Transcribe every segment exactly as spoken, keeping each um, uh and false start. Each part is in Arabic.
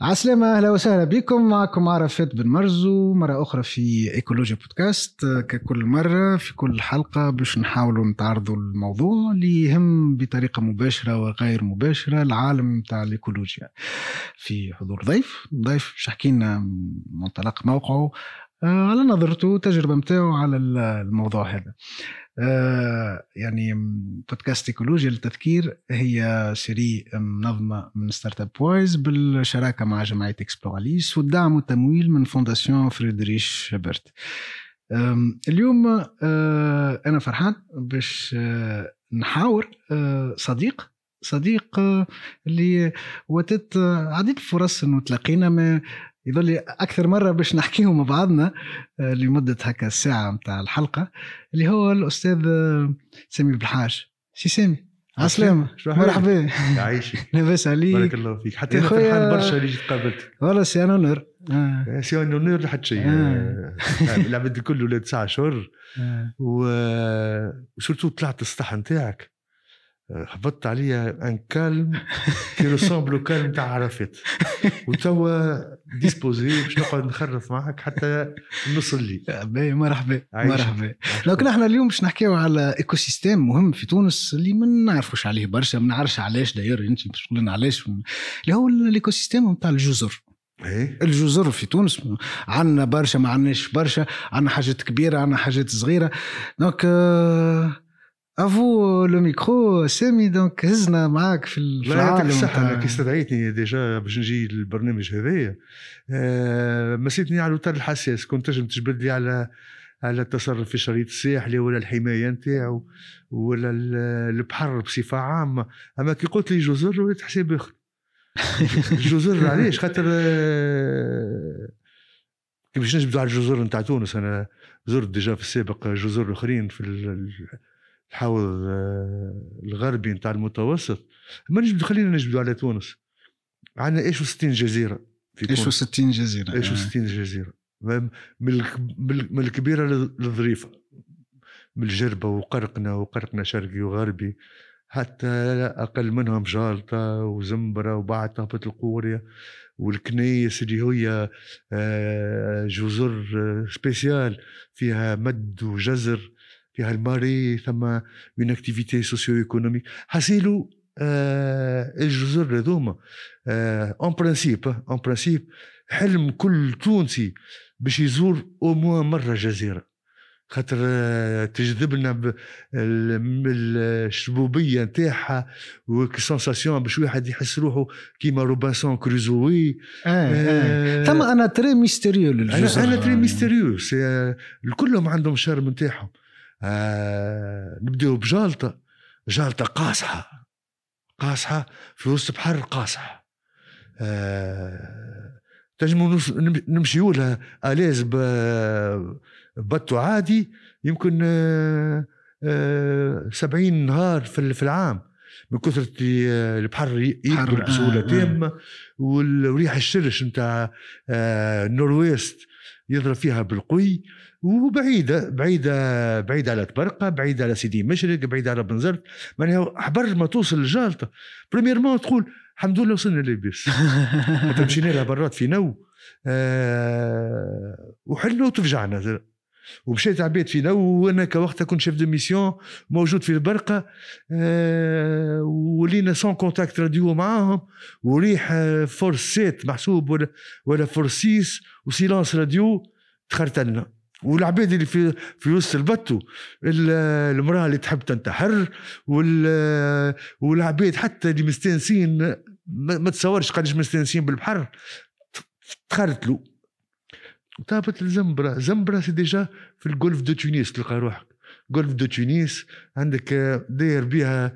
عسلامة، أهلا وسهلا بكم. معكم عرفات بن مرزو مرة أخرى في إيكولوجيا بودكاست. ككل مرة في كل حلقة باش نحاولوا نتعرضوا الموضوع اللي يهم بطريقة مباشرة وغير مباشرة العالم تاع الإيكولوجيا في حضور ضيف ضيف شحكينا منطلق موقعه على نظرته تجربة متاعه على الموضوع هذا. آه يعني بودكاست إيكولوجيا للتذكير هي سيري منظمة من ستارت اب بويز بالشراكة مع جمعية إكسبلوراليس والدعم والتمويل من فونداسيون فريدريش هبرت. اليوم آه أنا فرحان باش آه نحاور آه صديق صديق آه اللي وتت عديد الفرص إنه تلاقينا ما يظل أكثر مرة باش نحكيه مع بعضنا لمدة هكا الساعة متاع الحلقة، اللي هو الأستاذ سامي بالحاج. سي سامي عسلامة، مرحبا. عايشك لاباس عليك؟ بارك الله فيك. حتى أنا فرحان برشا اللي جيت قابلتك. والله سي أنا نور آه. سي أنا نور لحد شيء آه. العبد الكل ولاد ساعة شهر آه. وسورتو طلعت السطح نتاعك هبطت عليا ان كالم كي رسامبلو كالم تاع عرفات وتوا ديسبوزي باش نقعد نخرف معك حتى نص الليل. مرحبا مرحبا. لكن احنا اليوم باش نحكيو على ايكو سيستيم مهم في تونس اللي ما نعرفوش عليه برشا، ما نعرفش علاش داير انت باش تقول لنا علاش، اللي هو الايكو سيستيم نتاع الجزر. إيه؟ الجزر في تونس عندنا برشا، ما عندناش برشا، عندنا حاجات كبيره عندنا حاجات صغيره. دونك افو لو ميكرو سامي، دونك هزنا معاك في العالم. صح كي استدعيتني ديجا باش نجي للبرنامج هذايا أه مسيتني على الوتر الحساس، كنت تنجم تجبد لي على على التصرف في شريط الساحلي ولا الحمايه نتاعو ولا البحر بصفه عامه، اما كي قلت لي جزر وليت حساب اخر. الجزر علاش؟ خاطر أه كي باش نجبدوا على الجزر نتاع تونس، انا زرت ديجا في السابق جزر اخرين في الحوض الغربي نتاع المتوسط، ما نجبدوا خلينا نجبدوا على تونس. عندنا ايش وستين جزيره في تونس. ايش وستين جزيره ايش وستين جزيره من الكبيره للظريفه، من الجربه وقرقنا وقرقنا شرقي وغربي حتى اقل منهم جالطه وزنبره وبعد تهبط القوريه والكنيس اللي هي جزر سبيسيال فيها مد وجزر، فيها الماري، ثم اون اكتيفيتي سوسيو ايكونوميك. حسيلو آه الجزر هذوما اون برانسيب اون برانسيب حلم كل تونسي باش يزور او موان مره جزيره، خاطر آه تجذب لنا الشبوبيه نتاعها والسنساسيون باش واحد يحس روحه كيما روبنسون كروزوي. اه آه. ثم انا تري ميستيريو للجزر، انا, أنا تري ميستيريو. آه كلهم عندهم شرم نتاعهم. آه نبدأ بجالطة، جالطة قاصحة قاصحة في وسط بحر قاصح. آه تجمع نمشيوا لها آلاز بطو عادي يمكن آه آه سبعين نهار في العام من كثرة البحر يكبر بسهولة تامة، والريح الشرش نتاع آه النورويست يضرب فيها بالقوي، وبعيدة بعيدة بعيدة على تبرقة، بعيدة على سيدي مشرق، بعيدة على بنزرت. معناها حبر ما توصل للجالطة بريميرمون تقول الحمد لله وصلنا للبيس. مشينا لها برات في نو أه وحلنا وتفجعنا، ومشيت عبيد في نو وانا كوقتها كنت شيف دو ميسيون موجود في البرقة. أه ولينا سون كونتاكت راديو معاهم، وريح فورس سيت محسوب ولا ولا فورس سيس وسيلانس راديو تخرتلنا. والعباد اللي في في وسط البتو، المراه اللي تحب تنتحر، والعباد حتى اللي مستانسين ما تصورش قداش مستانسين بالبحر تخرتلوا. طابت الزنبرة، زنبرة سي ديجا في الجولف دو تونس تلقى روحك. جولف دو تونس عندك داير بها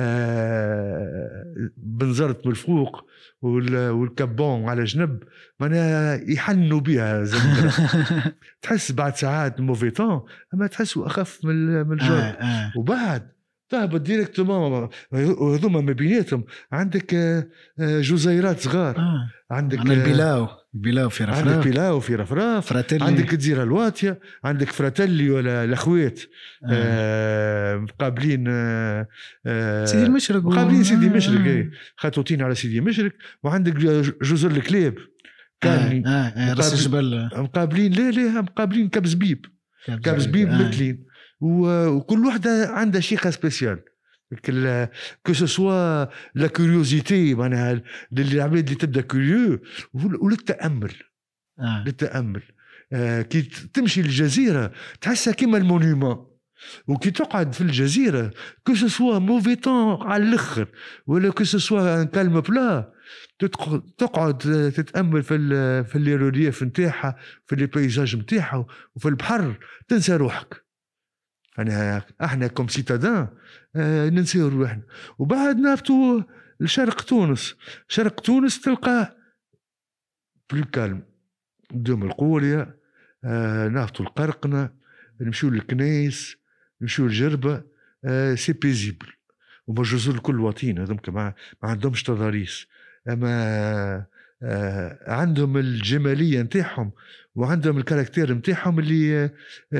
بنزرت من الفوق والكابون على جنب، معناها يحنوا بها زنبرة. تحس بعد ساعات موفيتون اما تحسوا اخف من الجو. وبعد تهبط ديريكتومون. وهذوما ما بيناتهم عندك جزيرات صغار. آه. عندك البلاو البلاو في رفراف، عندك بلاو في رفراف، فراتيلي. عندك الجزيرة الواتية، عندك فراتيلي ولا الأخوات آه. آه مقابلين آه سيدي المشرق، مقابلين سيدي آه. مشرق آه. خطوتين على سيدي مشرق. وعندك جزر الكلاب كاملين آه. آه. راس الجبل مقابلين. لا لا مقابلين كبزبيب كبزبيب آه. مثلين. وكل واحدة عندها شيء سبيسيال. que ce soit la curiosité معناها للعباد اللي تبدا كوريو وللتأمل آه. للتأمل آه كي تمشي للجزيرة تحسها كيما المونيومون. وكي تقعد في الجزيرة que ce soit mauvais temps على الآخر ولا que ce soit un calme plat تقعد تتأمل في ال في الريليف نتاعها في البيزاج نتاعها وفي البحر تنسى روحك. أنا احنا كم سيتادان آه ننسيو روحنا. وبعد نهبطوا لشرق تونس. شرق تونس تلقى بلو كالم دوم القورية. آه نهبطوا القرقنة، نمشيو للكنايس، نمشيو للجربة. آه سي بيزيبل. وما الجزر الكل واطين هذوم ما عندهمش تضاريس. اما آه عندهم الجمالية نتاعهم وعندهم الكاركتير نتاعهم اللي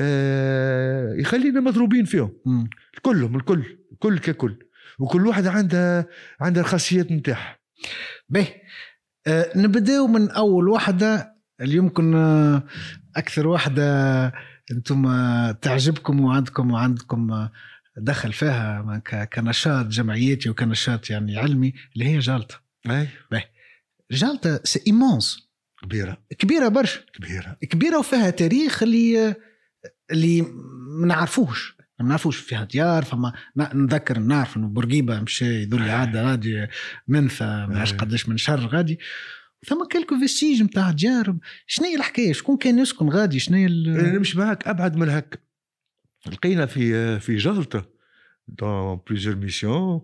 آه يخلينا مضروبين فيهم. م. كلهم الكل كل ككل. وكل واحد عندها عندها الخاصيات نتاعها. به آه نبداو من اول واحده اللي يمكن آه اكثر واحده انتم آه تعجبكم وعندكم وعندكم دخل فيها كنشاط جمعياتي وكنشاط يعني علمي اللي هي جالتا. اي به جالتا سي ايمونس، كبيره كبيره برشا، كبيره كبيره وفيها تاريخ اللي اللي ما نعرفوش ما نعرفوش. فيها ديار، فما نذكر نعرف انه بورقيبه مشى يدل عاده غادي منثى ماش قداش من شهر غادي ثم كلكو فيستيج نتاع ديار. شنو هي الحكايه؟ شكون كان يسكن غادي؟ شنو هي نمشي معك ابعد من هك. لقينا في في جالتا dans plusieurs missions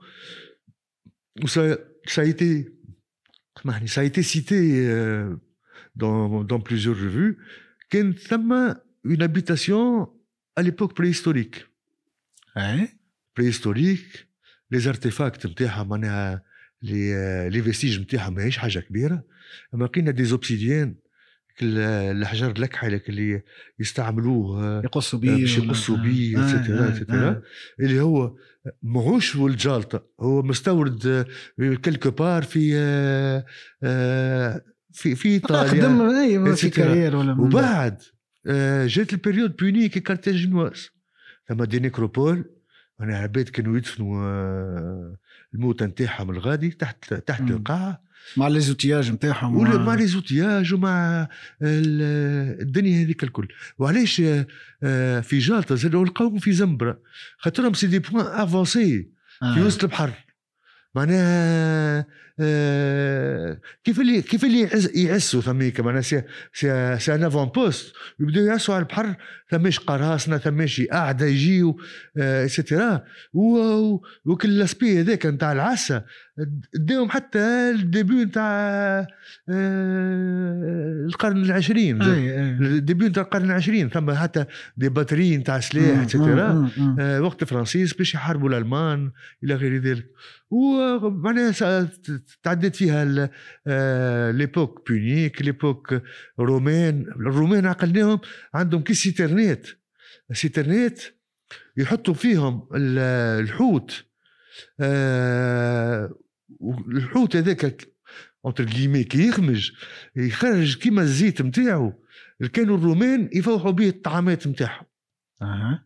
où ça ça a été ça a été cité euh, dans dans plusieurs revues كان ثم une habitation à l'époque préhistorique. hein préhistorique. les artefacts نتاعها معناها les les vestiges نتاعها ماهيش حاجه كبيره. اما لقينا des obsidiennes الحجر الأكحل اللي يستعملوه يقصوا بيه باش يقصوا بيه اتسيتيرا اتسيتيرا اللي هو ماهوش والجالطة، هو مستورد كلكو بار في في في ايطاليا في كارير ولا. وبعد جات البريود بونيك كارتاجينواز ثم دي نيكروبول. انا عباد كانوا يدفنوا الموت نتاعهم الغادي تحت تحت م. القاعه مع ليزوتياج نتاعهم ولا مع ليزوتياج ومع الدنيا هذيك الكل. وعلاش في جالطة زادوا القوم في زنبرة خاطرهم سي دي بوين افونسي في وسط البحر. معناها آه كيف اللي كيف اللي يعسوا ثميك معناها سي سي سي ان افون بوست يبداو يعسوا على البحر. ثماش قراصنه ثماشي قاعده يجيو اكسترا وكل الاسبي هذاك نتاع العسه داهم حتى الديبيو نتاع آه القرن العشرين. الديبيو نتاع القرن العشرين ثم حتى دي باتري نتاع سلاح اكسترا آه وقت فرانسيس باش يحاربوا الالمان الى غير ذلك. ومعناها تعدت فيها ليبوك بونيك ليبوك رومان. الرومان عقلناهم عندهم كي سيترنات سيترنات يحطوا فيهم الحوت. الحوت هذاك انتر غيمي كي يخمج يخرج كيما الزيت نتاعو. كانوا الرومان يفوحوا به الطعامات نتاعهم. اها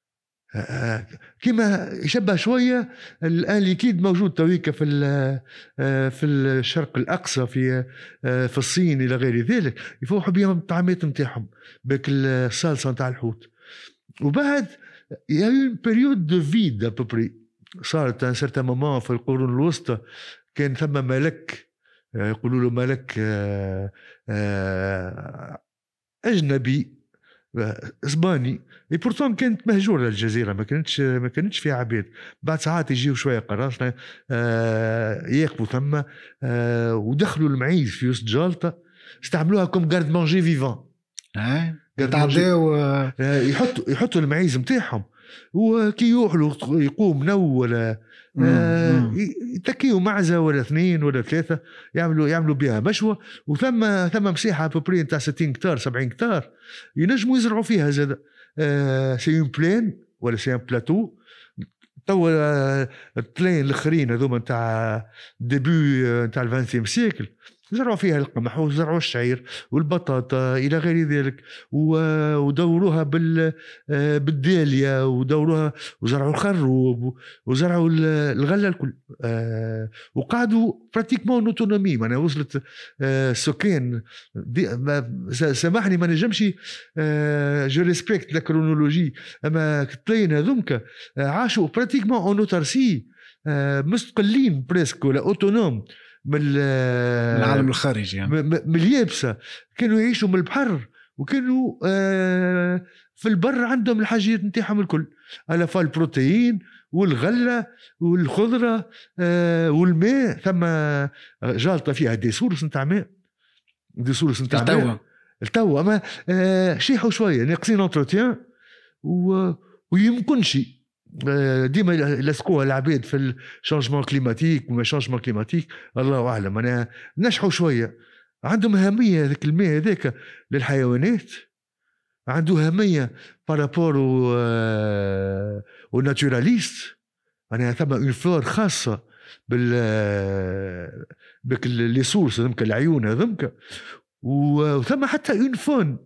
كما يشبه شويه الان ليكيد موجود تويكا في في الشرق الاقصى في في الصين الى غير ذلك يفوحوا بهم الطعامات نتاعهم باك الصلصه نتاع الحوت. وبعد يا اون بيريود دو فيد ابوبري صارت ان سيرتان مومون في القرون الوسطى كان ثم ملك يقولوا له ملك اجنبي اسباني اي بورتون كانت مهجوره الجزيره ما كانتش ما كانتش فيها عباد. بعد ساعات يجيو شويه قراصنه آه ياكلوا ثم آه ودخلوا المعيز في وسط جالطه استعملوها كوم غارد مانجي فيفون. يتعداو يحطوا يحطوا المعيز نتاعهم وكي يوحلوا يقوم نو ولا آه يتكيوا معزه ولا اثنين ولا ثلاثه يعملوا يعملوا بها مشوى وثم ثم مساحه ببري نتاع ستين كتار سبعين كتار ينجموا يزرعوا فيها زاد آه سي اون بلين ولا سي ان بلاتو تو البلين الاخرين هذوما نتاع ديبي نتاع الفانتيم سيكل زرعوا فيها القمح وزرعوا الشعير والبطاطا إلى غير ذلك ودوروها بالداليا ودوروها وزرعوا الخروب وزرعوا الغلة الكل وقعدوا براتيكمون اوتونومي. معناها وصلت السكان سامحني ما نجمش جو ريسبكت لا كرونولوجي اما تلاين هذومك عاشوا براتيكمون اون اوتارسي مستقلين بريسك ولا اوتونوم من العالم الخارجي يعني. من اليابسة كانوا يعيشوا من البحر وكانوا في البر عندهم الحاجات نتاعهم الكل على فال البروتين والغلة والخضرة والماء. ثم جالطة فيها دي سورس نتاع ماء دي سورس نتاع ماء التوا اما شيحوا شوية ناقصين انتروتيان ويمكنش ديما لسقوها العباد في الشانجمون كليماتيك وما شانجمون كليماتيك الله اعلم. انا نشحوا شويه عندهم اهميه هذاك الماء هذاك للحيوانات عنده اهميه بارابور و ناتوراليست. انا ثم اون فلور خاصه بال بك لي سورس هذمك العيون هذمك وثم حتى اون فون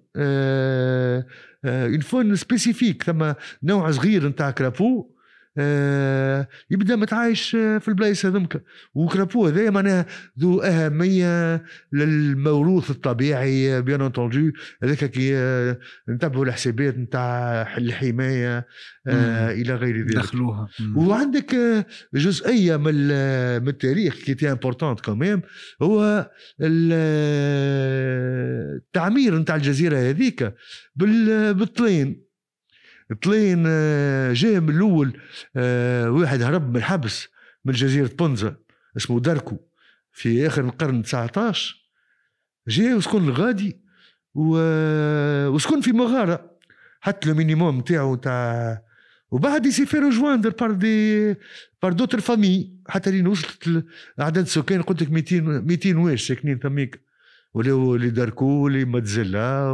اون فون سبيسيفيك. ثم نوع صغير نتاع كرابو يبدا متعايش في البلايص هذمك وكرابو هذا معناها ذو اهميه للموروث الطبيعي بيان انتونجو. هذاك كي نتبعوا الحسابات نتاع الحمايه الى غير ذلك دخلوها. وعندك جزئيه من من التاريخ كي تي امبورطونت كمان هو التعمير نتاع الجزيره هذيك بالطلين. الطلين جاء من الاول واحد هرب من الحبس من جزيره بونزا اسمه داركو في اخر القرن تسعطاش جاء وسكن الغادي وسكن في مغاره حتى المينيموم نتاعو تاع وبعد يسيفي رجواندر بار دي بار دوتر فامي حتى لين وصلت اعداد السكان قلت لك مئتين مئتين واش ساكنين ثميك ولا اللي داركو اللي متزلا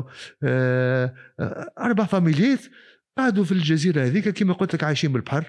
اربع فاميليات قعدوا في الجزيره هذيك كما قلت لك عايشين بالبحر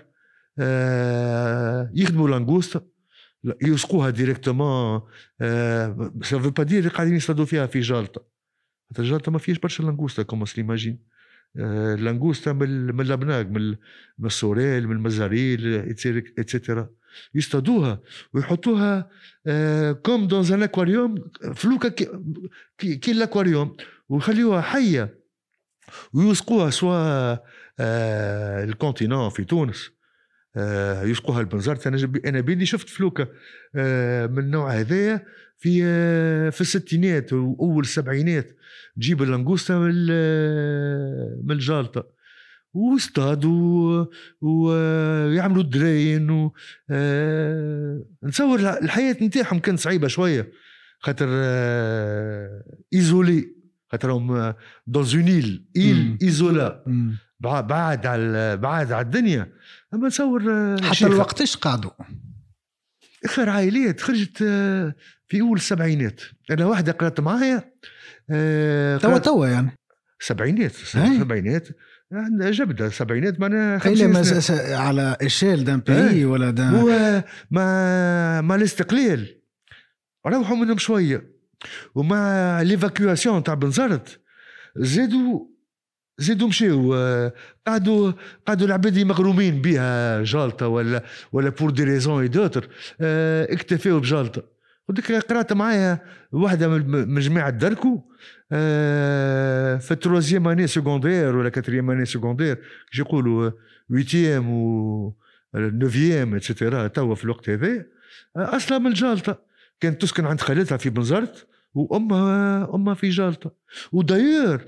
يخدموا لانغوستا يسقوها ديريكتومون سا فو با دير قاعدين يصطادوا فيها في جالطه. حتى جالطه ما فيش برشا لانغوستا كوم سليماجين لانغوستا من اللبناق من السوريل من المزاريل اتسيتيرا يصطادوها ويحطوها كوم دون ان اكواريوم فلوكا كي كي الاكواريوم ويخليوها حيه ويسقوها سواء آه الكونتينون في تونس آه يسقوها البنزرت. انا انا بيدي شفت فلوكه آه من النوع هذايا في آه في الستينات واول السبعينات تجيب اللانغوستا من من الجالطه واصطادوا ويعملوا الدراين و آه نتصور الحياه نتاعهم كانت صعيبه شويه خاطر آه ايزولي خاطرهم دون اون ايل ايل ايزولا بعاد على بعاد على الدنيا. اما تصور حتى الوقت ايش قعدوا اخر عائلات خرجت في اول السبعينات. انا واحده قرات معايا توا توا يعني سبعينات سبعينات جبده سبعينات معناها خمسين سنة على اشيل دان بي ولا دان هو ما ما الاستقلال روحوا منهم شويه ومع ليفاكيواسيون تاع بنزرت زادوا زادوا مشيو قعدوا قعدوا العباد مغرومين بها جالطه ولا ولا بور دي ريزون اي دوتر اكتفاوا بجالطه. وديك قرات معايا واحده من جماعه داركو في التروزيام اني سكوندير ولا كاتريام اني سكوندير يقولوا ويتيام و نوفيام اتسيتيرا توا في الوقت هذا اصلا من الجالطه كانت تسكن عند خالتها في بنزرت وامها امها في جالطه. وداير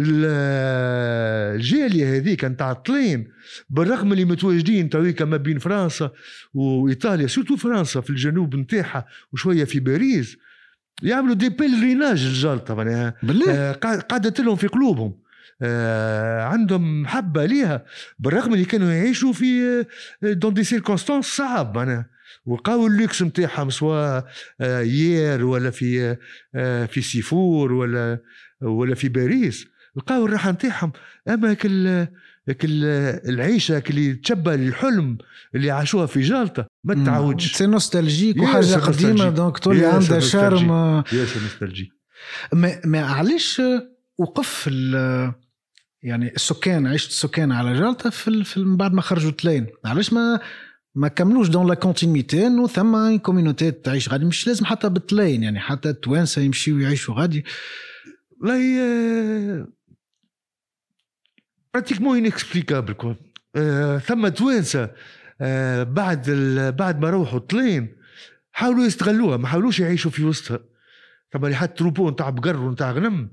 الجاليه هذيك نتاع الطلين بالرغم اللي متواجدين تويكا ما بين فرنسا وايطاليا سورتو فرنسا في الجنوب نتاعها وشويه في باريس يعملوا دي بيلريناج الجلطة معناها بالله قعدت لهم في قلوبهم. آه عندهم محبة ليها بالرغم اللي كانوا يعيشوا في دون دي سيركونستانس صعب معناها، وقاو اللوكس متاعهم سواء آه يير ولا في آه في سيفور ولا ولا في باريس، لقاو الراحة نتاعهم. أما كل كل العيشة اللي تشبه الحلم اللي عاشوها في جلطة ما تعودش. سي نوستالجيك وحاجة قديمة دونك تولي عندها شارم. ياسر نوستالجيك. ما ما علاش وقف يعني السكان، عيشت السكان على جلطة في في بعد ما خرجوا تلين، علاش ما ما كملوش دون لا كونتينيتي انه ثم كوميونيتي تعيش غادي؟ مش لازم حتى بالتلين يعني حتى التوانسه يمشيوا يعيشوا غادي. لا هي براتيكمون انكسبليكابل كوا. آه ثم توانسه آه بعد بعد ما روحوا تلين حاولوا يستغلوها، ما حاولوش يعيشوا في وسطها. طبعا اللي حد تروبو نتاع بقر ونتاع غنم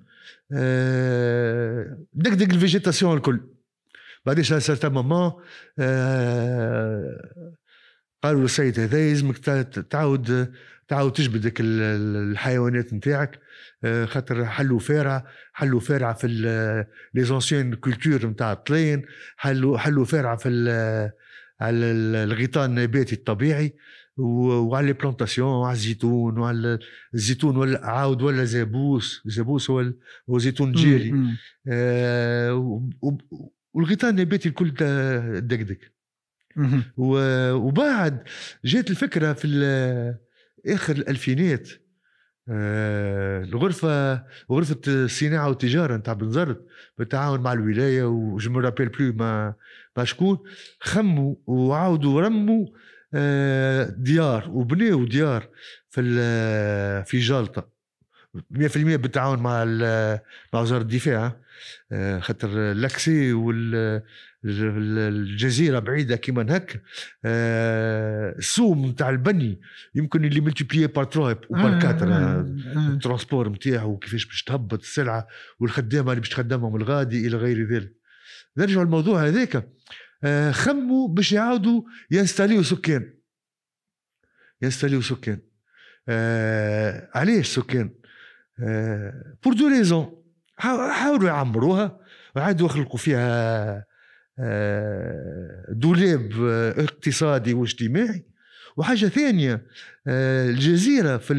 آه دقدق الفيجيتاسيون الكل. بعديش سارت ماما آه قالوا السيد هذا يلزمك تعاود تعاود تجبدك الحيوانات نتاعك آه خاطر حلوا فارع حلوا فارع في لي زونسيون كولتور نتاع الطلين، حلوا حلوا فارع في على الغطاء النباتي الطبيعي وعلى لي بلانتاسيون وعلى الزيتون وعلى الزيتون ولا عاود ولا زابوس. زابوس هو هو زيتون جيلي آه والغطاء النباتي الكل دقدق. وبعد جات الفكرة في آخر الألفينات آه الغرفة غرفة الصناعة والتجارة نتاع بنزرت بالتعاون مع الولاية وجو مو رابيل بلو ما ما شكون خموا وعاودوا رموا آه ديار وبنيوا ديار في في جلطة مية في المية بالتعاون مع مع وزارة الدفاع آه خاطر لاكسي والجزيرة بعيدة كيما هك آه السوم نتاع البني يمكن اللي ملتيبليي بار تروي وبار كاتر الترانسبور نتاعو وكيفاش باش تهبط السلعة والخدامة اللي باش تخدمهم الغادي إلى غير ذلك. نرجع الموضوع هذاك آه خموا باش يعاودوا ينستاليو سكان ينستاليو سكان آه علاش سكان آه بور دو ريزون حاولوا يعمروها وعادوا يخلقوا فيها آه دولاب اقتصادي واجتماعي. وحاجة ثانية آه الجزيرة في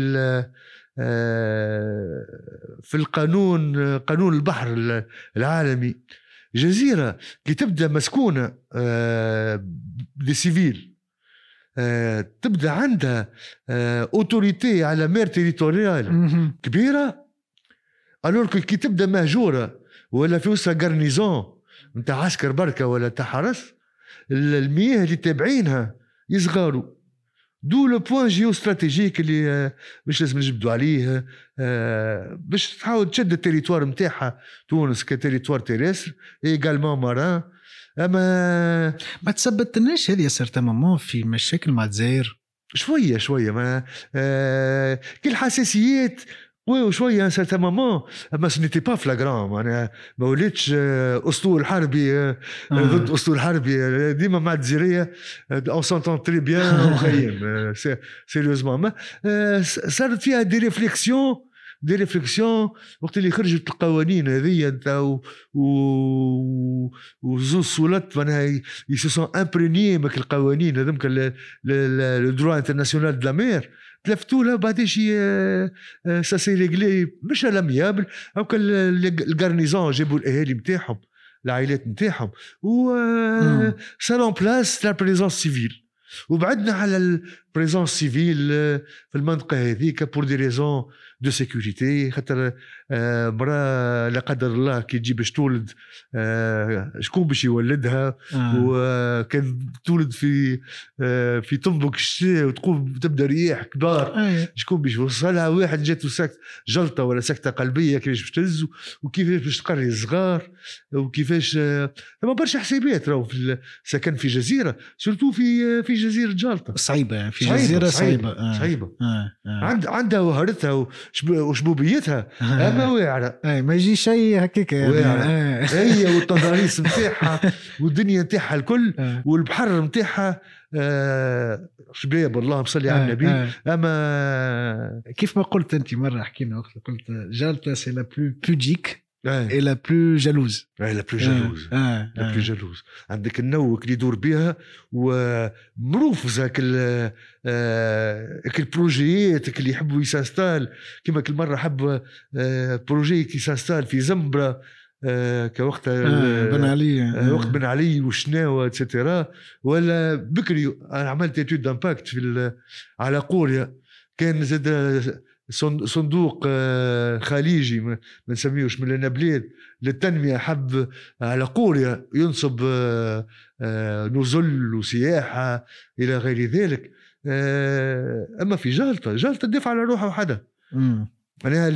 آه في القانون قانون البحر العالمي جزيرة كي تبدأ مسكونة آه دي سيفيل آه تبدأ عندها آه أوتوريتي على مير تيريتوريال كبيرة، ألور كي تبدأ مهجورة ولا في وسط غارنيزون نتاع عسكر بركة ولا تاع حرس المياه اللي تابعينها يصغروا. دو لو بوين جيو استراتيجيك اللي باش لازم نجبدوا عليه باش تحاول تشد التريتوار نتاعها تونس كتريتوار تيريسر ايغالمون ماران. اما ما تثبتناش هذه صرت ماما في مشاكل مع الجزائر شويه شويه ما آه كل حساسيات وشويه صرت ماما اما سنيتي با فلاغران. انا ما وليتش اسطول حربي ضد اسطول حربي ديما مع الجزائريه اون سونتون تري بيان وخيم سيريوزمون. صارت فيها دي ريفليكسيون دي ريفليكسيون وقت اللي خرجت القوانين هذه نتاع وزوز سولات معناها يسون امبريني مك القوانين هذوك لو دروا انترناسيونال دو لا مير تلفتوا لها بعد شي سا سي ريغلي مش الاميابل او الغارنيزون جابوا الاهالي نتاعهم العائلات نتاعهم و سالون بلاس لا بريزونس سيفيل. وبعدنا على البريزونس سيفيل في المنطقه هذيك بور دي ريزون دو سيكوريتي خاطر آه مرا لا قدر الله كي تجي باش تولد آه شكون باش يولدها آه. وكان تولد في آه في طنبك الشتاء وتقوم تبدا رياح كبار آه. شكون باش يوصلها؟ واحد جاته سكت جلطه ولا سكته قلبيه كيفاش باش تهز وكيفاش باش تقري الصغار وكيفاش آه برشا حسابات راهو في السكن في جزيره سورتو في في جزيره جلطه صعيبه في في جزيرة صعيبة صعيبة, صعيبة. آه. آه. عند عندها وهرتها وشبوبيتها آه. أما واعرة آه. ما يجي شيء هكيك يعني. آه. هي والتضاريس متاعها والدنيا متاعها الكل آه. والبحر متاعها آه. شباب الله مصلي على النبي. آه. أما كيف ما قلت أنت مرة حكينا وقت قلت جالتا سي لا بلو بوديك آه. et la plus jalouse. لا بلو جالوز آه. لا بلو جالوز. عندك النوك اللي يدور بها ومروفزة كل كل بروجيات اللي يحبوا يسانستال كما كل مرة حب بروجي كي سانستال في زنبرة كوقت آه. بن علي آه. وقت بن علي وشناوة اتسترا. ولا بكري أنا عملت اتيود دامباكت في على قوريا كان زاد صندوق خليجي ما نسميهوش من النبلات للتنمية حب على قوريا ينصب نزل وسياحة إلى غير ذلك. أما في جالتا جالتا تدفع على روحها وحدها. أنا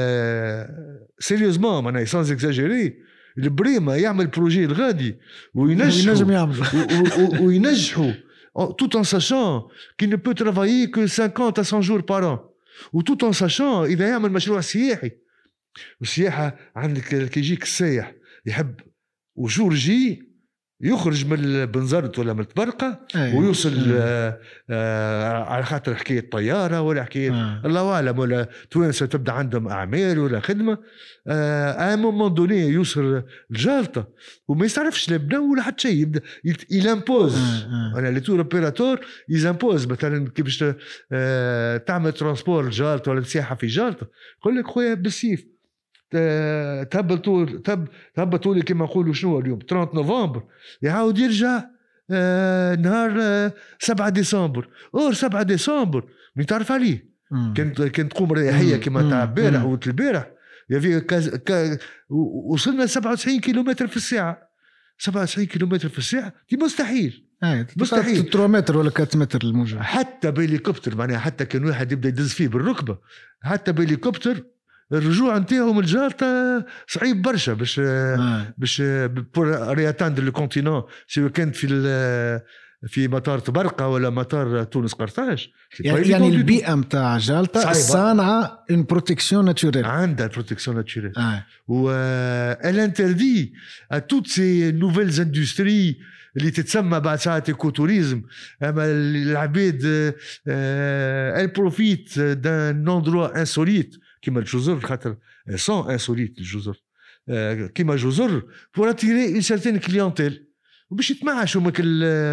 سيريوزمان أنا سانز إكزاجيري البريمة يعمل بروجي الغادي وينجحوا وينجحوا tout en sachant qu'il ne peut travailler que cinquante à cent jours par an و tout en sachant إذا يعمل مشروع سياحي. والسياحة عندك كي يجيك السايح يحب وجورجي يخرج من بنزرت ولا من الطبرقة ويوصل آه آه على خاطر حكاية طيارة ولا حكاية آه. الله أعلم ولا توانسة تبدأ عندهم أعمال ولا خدمة آه مومون دوني يوصل الجالطة وما يستعرفش لا بنا ولا حتى شيء يبدأ يلامبوز. آه. أنا اللي تور أوبيراتور يزامبوز مثلا كيفاش آه تعمل ترانسبور الجالطة ولا سياحة في جالطة يقول لك خويا بالسيف تهبطوا تهب تهبطوا لي كما نقولوا شنو اليوم ثلاثين نوفمبر يعاود يرجع آه نهار آه سبعة ديسمبر اور سبعة ديسمبر من تعرف عليه كانت كانت تقوم رياحيه كما تاع البارح والبارح يفي كا وصلنا سبعة وتسعين كيلومتر في الساعه سبعة وتسعين كيلومتر في الساعه دي مستحيل مستحيل ثلاثة متر ولا أربعة متر الموجه حتى بهليكوبتر معناها حتى كان واحد يبدا يدز فيه بالركبه حتى بهليكوبتر الرجوع نتاعهم الجالطة صعيب برشا باش آه. باش بور رياتاندر لو كونتينون سواء كانت في في مطار طبرقة ولا مطار تونس قرطاج. يعني, يعني البيئة متاع جالطة صانعة ان بروتكسيون ناتوريل عندها بروتكسيون ناتوريل آه. و elle interdit à toutes ces nouvelles industries اللي تتسمى بعد ساعات ايكوتوريزم. اما العباد elle profite d'un endroit insolite كيما الجزر خاطر سون انسوليت الجزر كيما جزر pour attirer une certaine clientèle وباش يتمعشوا من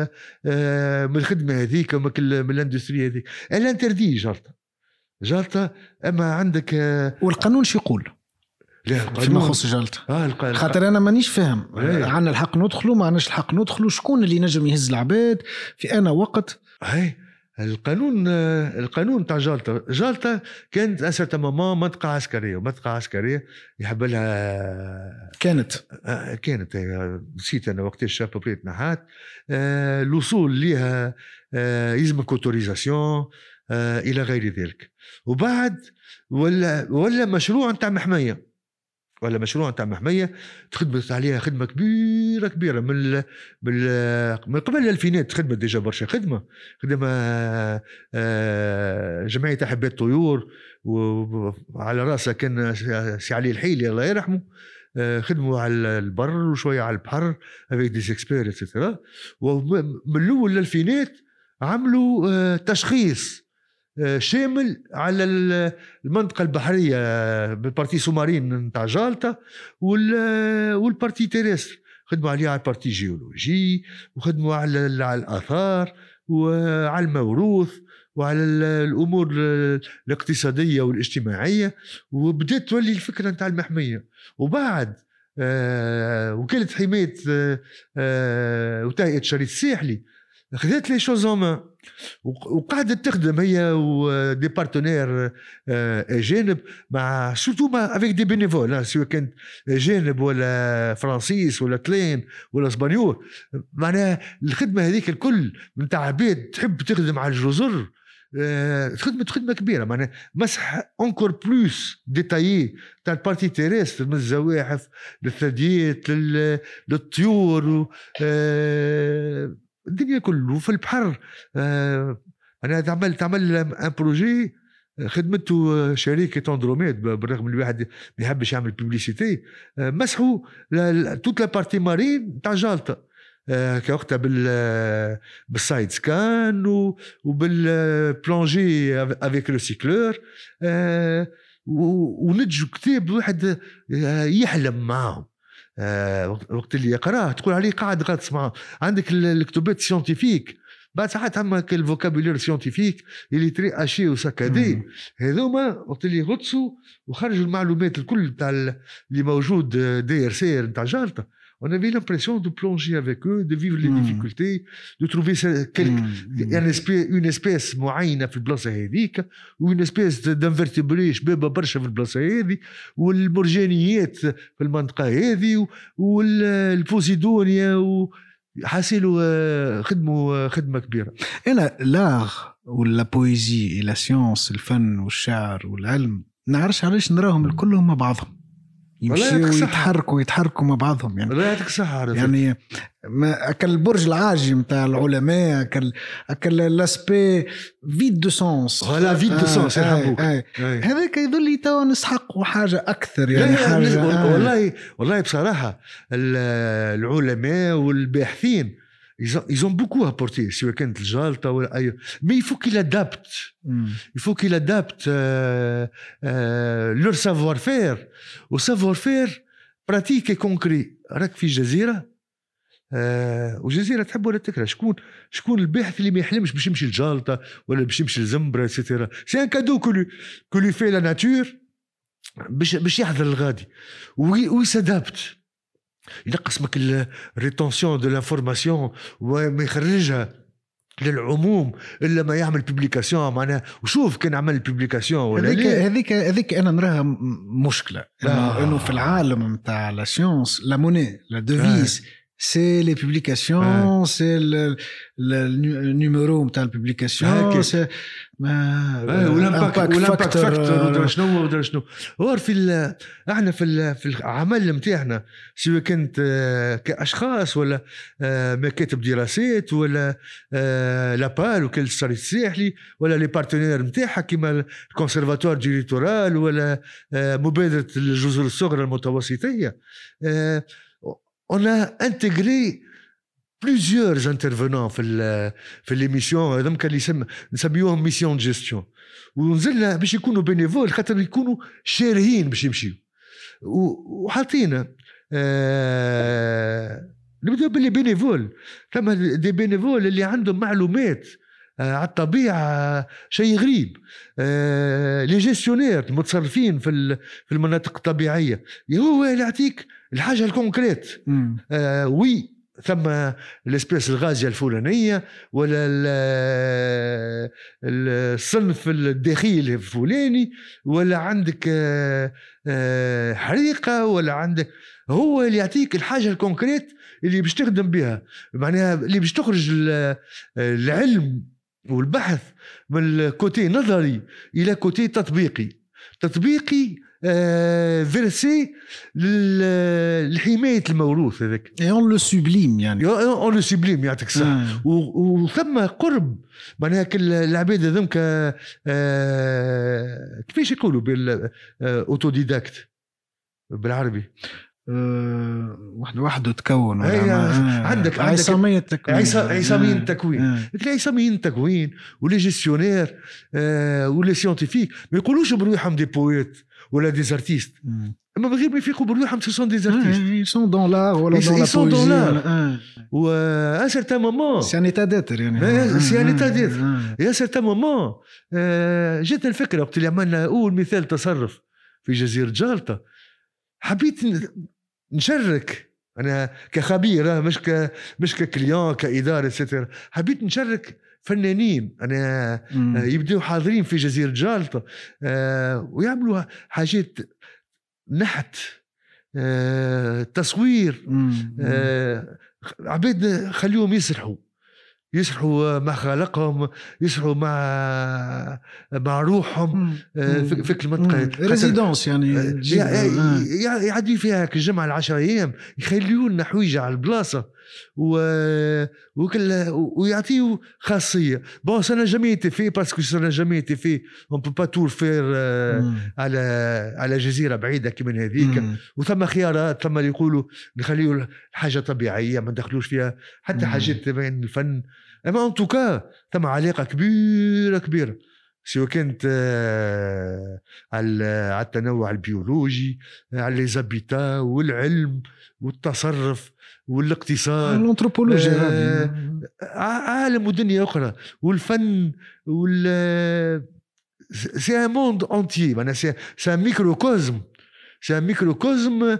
من الخدمه هذيك ومن من الاندستري هذيك. الانتردي جالطه جالطه اما عندك والقانون شو يقول فيما يخص جالطه؟ آه خاطر انا مانيش فاهم عندنا الحق ندخلوا ما عندناش الحق ندخلوا شكون اللي نجم يهز العباد في انا وقت هاي القانون القانون تاع جالطة جالطة كانت أسرة ماما منطقة عسكرية ومنطقة عسكرية يحب لها كانت كانت نسيت أنا وقت الشاب بريت نحات الوصول لها يلزمك اوتوريزاسيون إلى غير ذلك. وبعد ولا ولا مشروع تاع محمية ولا مشروع تاع محمية تخدمت عليها خدمة كبيرة كبيرة من من من قبل الألفينات خدمت ديجا برشا خدمة خدمة جمعية أحباء الطيور وعلى رأسها كان سي علي الحيلي الله يرحمه خدموا على البر وشوية على البحر avec des experts et cetera. ومن الأول للألفينات عملوا تشخيص شامل على المنطقة البحرية بالبارتي سومارين نتاع جالطة والبارتي تيرستر خدموا عليها على البارتي جيولوجي وخدموا على الآثار وعلى الموروث وعلى الأمور الاقتصادية والاجتماعية. وبدأت تولي الفكرة نتاع المحمية. وبعد وكالة حماية وتهيئة شريط الساحلي خذت لي شوزوما وقاعدة تخدم هي ودي بارتنير أجانب مع سورتو مع افيك دي بينيفول سواء كانت أجانب ولا فرانسيس ولا تلين ولا اسبانيول. معناها الخدمة هذيك الكل من عباد تحب تخدم على الجزر خدمة خدمة كبيرة. معناها مسح انكور بلوس ديتايي تاع البارتي تيرستر من الزواحف للثدييات للطيور الدنيا كله في البحر. آه انا تعمل تعمل ان بروجي خدمته شركه اندروميد، بالرغم من الواحد ما يحبش يعمل ببليسيتي، مسحوا توت لا بارتي مارين تاع جالطه كوقتها بال بالسايد سكان وبالبلونجي افيك لو سيكلور، ونجوا كتاب واحد يحلم معاهم. وقت اللي يقراه تقول عليه قاعد غاطس معاه. عندك الكتبات سيونتيفيك بعد ساعات عما الفوكابولير سيونتيفيك اللي تري اشي وسكادي، هذوما وقت اللي غطسوا وخرجوا المعلومات الكل تاع اللي موجود دي ار سي تاع جالطه. On avait l'impression de plonger avec eux, de vivre les mmh. difficultés, de trouver quelque, mmh. une, espèce, une espèce معينة في البلاصة هذيك، وune espèce d'invertébrés شبابة برشا في البلاصة هذه، والمرجانيات في المنطقة هذه، والبوزيدونيا، وحاسلوا خدموا خدمة كبيرة. أنا لاغ ولا بويزي لا سيونس، الفن والشعر والعلم، نعرفش علاش نراهم الكلهم مع بعضهم يمشيوا ويتحركوا يتحركوا مع بعضهم. يعني لا يعطيك صحة. يعني ما أكل البرج العاجي متاع العلماء، أكل أكل لاسبي فيد دو سونس، ولا فيد دو سونس يحبوك هذاك يظل تو نسحقوا حاجة أكثر. يعني حاجة آه. والله والله بصراحة العلماء والباحثين ils ont beaucoup apporté سواء كانت الجالطة ولا أي، mais il faut qu'ils adaptent il faut qu'ils adaptent euh, euh, leur savoir-faire au savoir-faire pratique et concret. راك في جزيرة آه وجزيرة تحب ولا تكره، شكون شكون الباحث اللي ما يحلمش باش يمشي الجالطة ولا باش يمشي الزنبرة اكسيتيرا؟ سي ان كادو كولو كولو في لا ناتور باش باش يحضر الغادي ويسادابت، ينقص مك الريتونسيون دو لانفورماسيون وما يخرجها للعموم الا ما يعمل بوبليكاسيون معناها. وشوف كان عمل بوبليكاسيون ولا هذيك هذيك هذيك انا نراها مشكله انه آه. انه في العالم نتاع لا سيونس لا موني لا ديفيز سي لي بوبليكاسيون، سي النيميرو نتاع البوبليكاسيون، سي ما والامباكت والامباكت فاكتور ودرا شنو ودرا شنو. اور في احنا في في العمل نتاعنا سواء كانت كاشخاص ولا مكاتب دراسات ولا لابال وكل الصريح الساحلي ولا لي بارتنير نتاعها كيما الكونسيرفاتوار دي ليتورال ولا مبادره الجزر الصغرى المتوسطيه. On a intégré plusieurs intervenants في ال في l'émission هذم كان يسمى نسميوهم ميسيون جيستيون، ونزلنا باش يكونوا بينيفول خاطر يكونوا شارهين باش يمشيوا، وحاطينا آه نبداو باللي بينيفول. ثم دي بينيفول اللي عندهم معلومات آه على الطبيعة شيء غريب، آه لي جيستيونير المتصرفين في في المناطق الطبيعية، هو اللي يعطيك الحاجة الكونكريت. آه وي ثم الاسبيس الغازية الفلانية ولا الصنف الداخلي الفلاني ولا عندك آه آه حريقة ولا عندك، هو اللي يعطيك الحاجة الكونكريت اللي باش تخدم بها، معناها اللي باش تخرج العلم والبحث من الكوتي نظري إلى كوتي تطبيقي تطبيقي آه فيرسي لحماية الموروث هذاك. اون لو سوبليم يعني اون لو سوبليم يعطيك الصح. وثم قرب معناها كل العباد هذوك آه كيفاش يقولوا بالاوتوديداكت بالعربي؟ أه واحد وحده تكون آه عندك عصامية التكوين عصامية التكوين آه. عصامية التكوين ولي جيستيونير آه ولي سيونتيفيك ما يقولوش بروحهم دي بويت ولا دي زارتيست، اما بغير ما يفيقوا بروحهم سي سون دي زارتيست، يسون دون لار ولا دون لا بويزي و ان سيرتان مومون سي ان ايتا ديتر يعني سي ان ايتا ديتر يا سيرتان مومون. جات الفكره وقت اللي عملنا اول مثال تصرف في جزيره جالطه، حبيت نشارك انا كخبير مش ك مش ككليون كاداره ستر، حبيت نشارك فنانين انا مم. يبداو حاضرين في جزيره جالطه آه ويعملوا حاجات نحت آه تصوير آه عبيد خليهم يسرحوا يسرحوا مع خالقهم، يسرحوا مع مع روحهم في, في المنطقة ريزيدونس يعني يعدي فيها كالجمعة العشر أيام، يخليوا لنا حويجة على البلاصة و... وكل ويعطيوا خاصية. بون سنة جامي été fait parce que سنة جامي été fait on peut pas tout faire على على جزيرة بعيدة كمان هذيك. وثم خيارات، ثم يقولوا نخليوا الحاجة طبيعية ما ندخلوش فيها حتى حاجات تبين الفن. اما ان توكا ثم علاقه كبيره كبيره سواء كانت على على التنوع البيولوجي، على لي زابيتا والعلم والتصرف والاقتصاد، الانثروبولوجيا، آه عالم ودنيا اخرى، والفن وال سي ان موند انتيي، معناها سي ان ميكروكوزم سي ان ميكروكوزم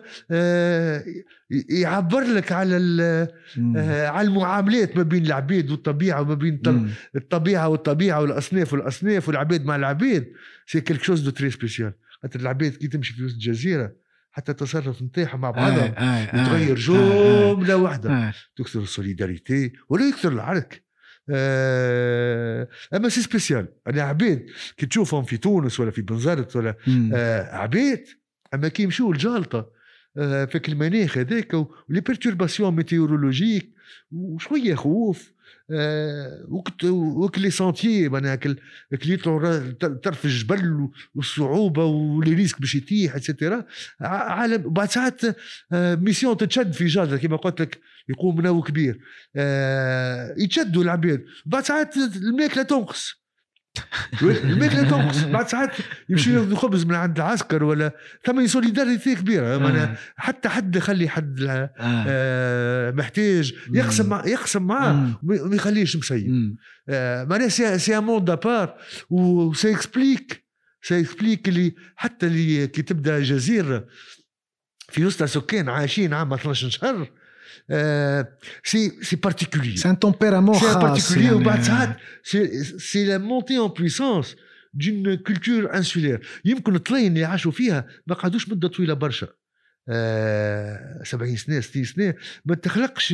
يعبر لك على على المعاملات ما بين العبيد والطبيعه، وما بين الطبيعه والطبيعه والاصناف والاصناف والعبيد مع العبيد. سي كيلك شوز دو تري سبيسيال. حتى العبيد كي تمشي في وسط الجزيره حتى التصرف نتاعهم مع بعضهم تغير جمله واحده، تكثر السوليداريتي ولا يكثر العرك. آه اما سي سبيسيال. انا عبيد كي تشوفهم في تونس ولا في بنزرت ولا آه عبيد، اما كي يمشوا الجالطه آه في المناخ هذاك ولي بيرتورباسيون ميتيورولوجيك وشويه خوف آه وقت وقت لي سانتيي، معناها كل يطلعوا طرف الجبل والصعوبه ولي ريسك باش يطيح اتسيتيرا. عالم بعد ساعات آه ميسيون تتشد في جالطه كما قلت لك، يقوم منو كبير آه يتشدوا العباد. بعد ساعات الماكله تنقص الماكله تنقص بعد ساعات يمشي ياخذ خبز من عند العسكر ولا ثم سوليداريتي كبيره. آه. حتى حد يخلي حد آه. آه محتاج يقسم مع يقسم معاه وما يخليش مسيب. آه معناها سي سي ان موند ابار وسي اكسبليك سي اكسبليك اللي حتى اللي كي تبدا جزيره في وسط سكان عايشين عام اثناش شهر سي سي بارتيكولير، سي ان تمبيرامون خاص يعني. وبعد ساعات سي سي لا مونتي ان بويسانس دون كولتور انسولير. يمكن الطلين اللي عاشوا فيها ما قعدوش مده طويله برشا، آه سبعين سنه ستين سنه، ما تخلقش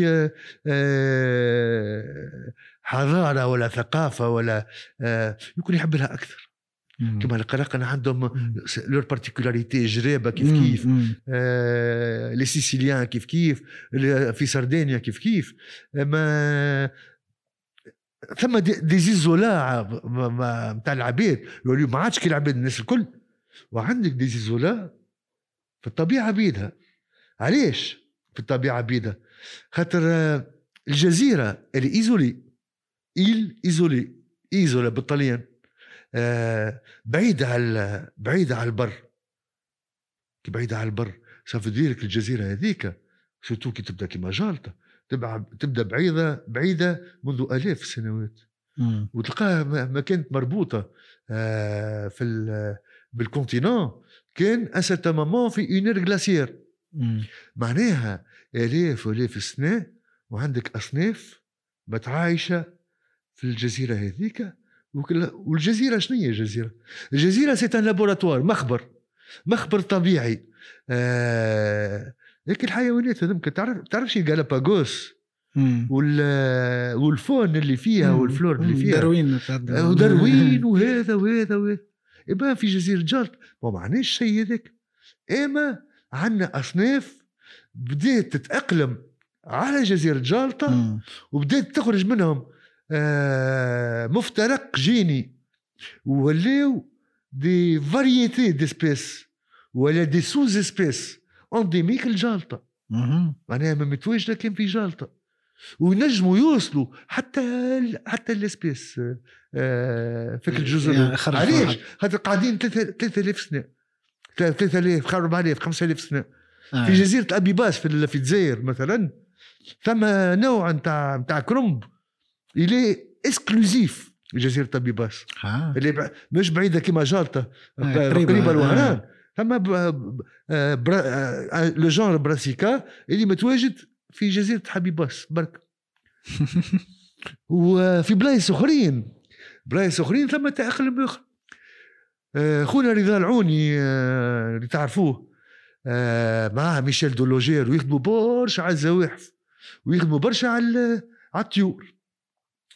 آه حضاره ولا ثقافه ولا آه يمكن يحب لها اكثر. كما القراقنة عندهم لور بارتيكولاريتي، جرابة كيف كيف، آه لي سيسيليان كيف كيف، في سردينيا كيف كيف. ما ثم دي, دي زيزولا متاع العبيد يقولوا ما عادش كي العبيد الناس الكل، وعندك دي زيزولا في الطبيعة بيدها. علاش في الطبيعة بيدها؟ خاطر الجزيرة اللي إيزولي إيل إيزولي إيزولا بالطليان آه بعيدة على بعيدة على البر. كي بعيدة على البر سافديرك الجزيرة هذيك سوتو كي تبدأ كما جالطة تبع تبدأ بعيدة بعيدة منذ آلاف السنوات، وتلقاها ما كانت مربوطة آه في بالكونتينون. كان أسرت مامان في اونير غلاسير، معناها آلاف وآلاف السنة وعندك أصناف متعايشة في الجزيرة هذيك. والجزيرة شنو هي الجزيرة؟ الجزيرة سي ان لابوراتوار، مخبر مخبر طبيعي. آه... لكن الحيوانات هذوك تعرف تعرفش الجالاباغوس وال والفون اللي فيها والفلور اللي فيها داروين وداروين وهذا وهذا وهذا يبقى في جزيرة جالطة ما معناش شيء هذاك. اما عندنا اصناف بدات تتأقلم على جزيرة جالطة وبدات تخرج منهم آه مفترق جيني ولاو دي فاريتي ديسبيس ولا دي سوز اسبيس انديميك الجالطة. معناها ما متواجدة كان في جالطة وينجموا يوصلوا حتى حتى الاسبيس آه فيك الجزر. يعني علاش؟ خاطر قاعدين ثلاثة آلاف سنة ثلاثة آلاف أربعة آلاف خمسة آلاف سنة آه. في جزيرة أبيباس في في الجزائر مثلا ثم نوع نتاع نتاع كرنب إلي إكسكلوزيف جزيرة أبيباس آه. اللي مش بعيدة كما جالطة آه. قريبة الوهران. ثم لو جانر براسيكا اللي متواجد في جزيرة حبيباس برك. وفي بلايص أخرين بلايص أخرين ثم تأقلم آخر. خونا رضا العوني اللي تعرفوه معاه ميشيل دولوجير ويخدموا برشا على الزواحف ويخدموا برشا على على الطيور.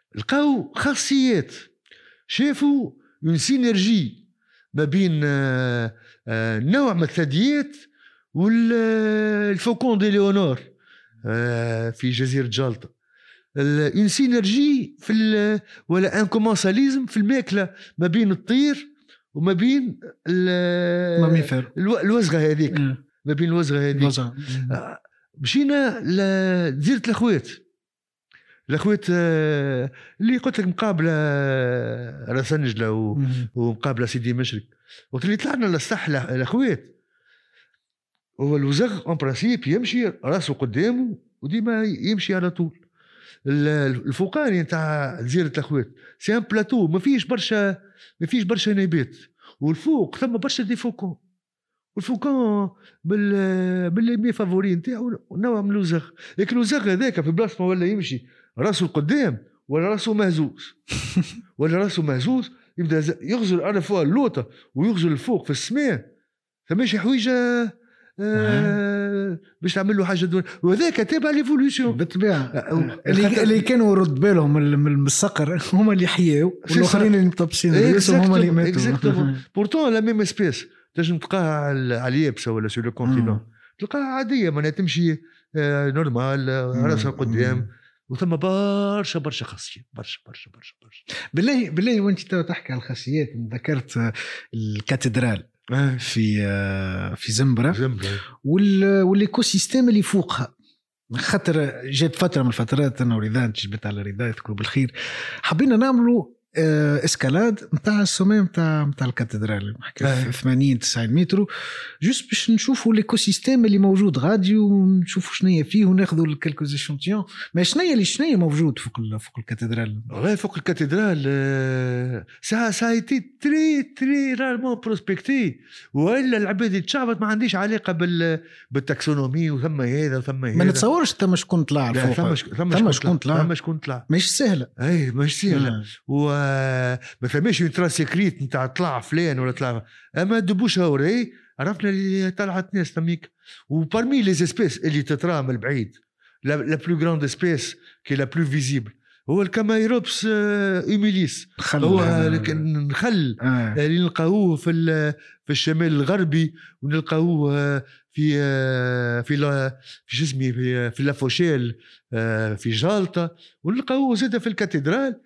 لقاو خاصيات، شافوا اون سينرجي ما بين آه آه نوع من الثدييات والفوكون دي ليونور آه في جزيرة جالطة، اون سينرجي في ولا ان كومونساليزم في الماكلة ما بين الطير وما بين ماميفر الوزغة هذيك، ما بين الوزغة هذيك. مشينا لجزيرة الأخوات، الأخوات اللي قلت لك مقابلة راسنجلة ومقابلة سيدي مشرق، وقت اللي طلعنا للساحة الأخوات هو الوزغ اون برانسيب يمشي راسه قدامه وديما يمشي على طول. الفوقاني نتاع جزيرة الأخوات سي ان بلاتو ما فيش برشا ما فيش برشا نبات، والفوق ثم برشا دي فوكون، والفوكون بال باللي فافوري نتاعو نوع من الوزغ، لكن الوزغ هذاك في بلاصه ولا يمشي راسه القدام ولا راسه مهزوز ولا راسه مهزوز يبدا يغزل على فوق اللوطه ويغزل الفوق في السماء، فماشي حويجه آه باش تعمل له حاجه دون، وهذاك تابع ليفولوشن بالطبيعه. اللي اللي كانوا يرد بالهم من الصقر هما اللي حياو، والاخرين اللي مطبسين هما اللي ماتوا. بورتون لا ميم اسبيس تنجم تلقاها على اليابسه ولا سو لو كونتينون تلقاها عاديه معناها تمشي آه نورمال راسها قدام، وثم برشا برشا خاصيات برشا برشا برشا برشا. بالله بالله وانت تحكي على الخاصيات ذكرت الكاتدرال في في زنبرة والايكو سيستيم اللي فوقها، خاطر جات فتره من الفترات انا وريدان جبت على ريدان تكون بالخير، حبينا نعملوا اسكالاد نتاع السماء نتاع نتاع الكاتدرال نحكي ثمانين تسعين متر، جوست باش نشوفوا الايكو سيستيم اللي موجود غادي ونشوفوا شنو فيه وناخذوا الكالكوز ايشونتيون. ما شنو اللي شنو موجود فوق فوق الكاتدرال؟ والله فوق الكاتدرال سا سا ايتي تري تري رارمون بروسبكتي، والا العباد يتشعبط ما عنديش علاقه بال بالتاكسونومي وثم هذا وثم هذا. ما نتصورش ثم شكون طلع فوق، ثم شكون طلع ثم شكون طلع مش سهله، اي مش سهله و ما فهمش يترا سيكريت نتاع طلع فلان ولا طلع، اما دبوش هوري عرفنا اللي طلعت ناس تميك. وبارمي لي اسبيس اللي تترى من البعيد لا لا بلو غراند اسبيس كي لا بلو فيزيبل هو الكامايروبس ايميليس، هو النخل آه. اللي نلقاوه في في الشمال الغربي ونلقاوه في في في جسمي في في لافوشيل في جالطة، ونلقاوه زاد في الكاتدرال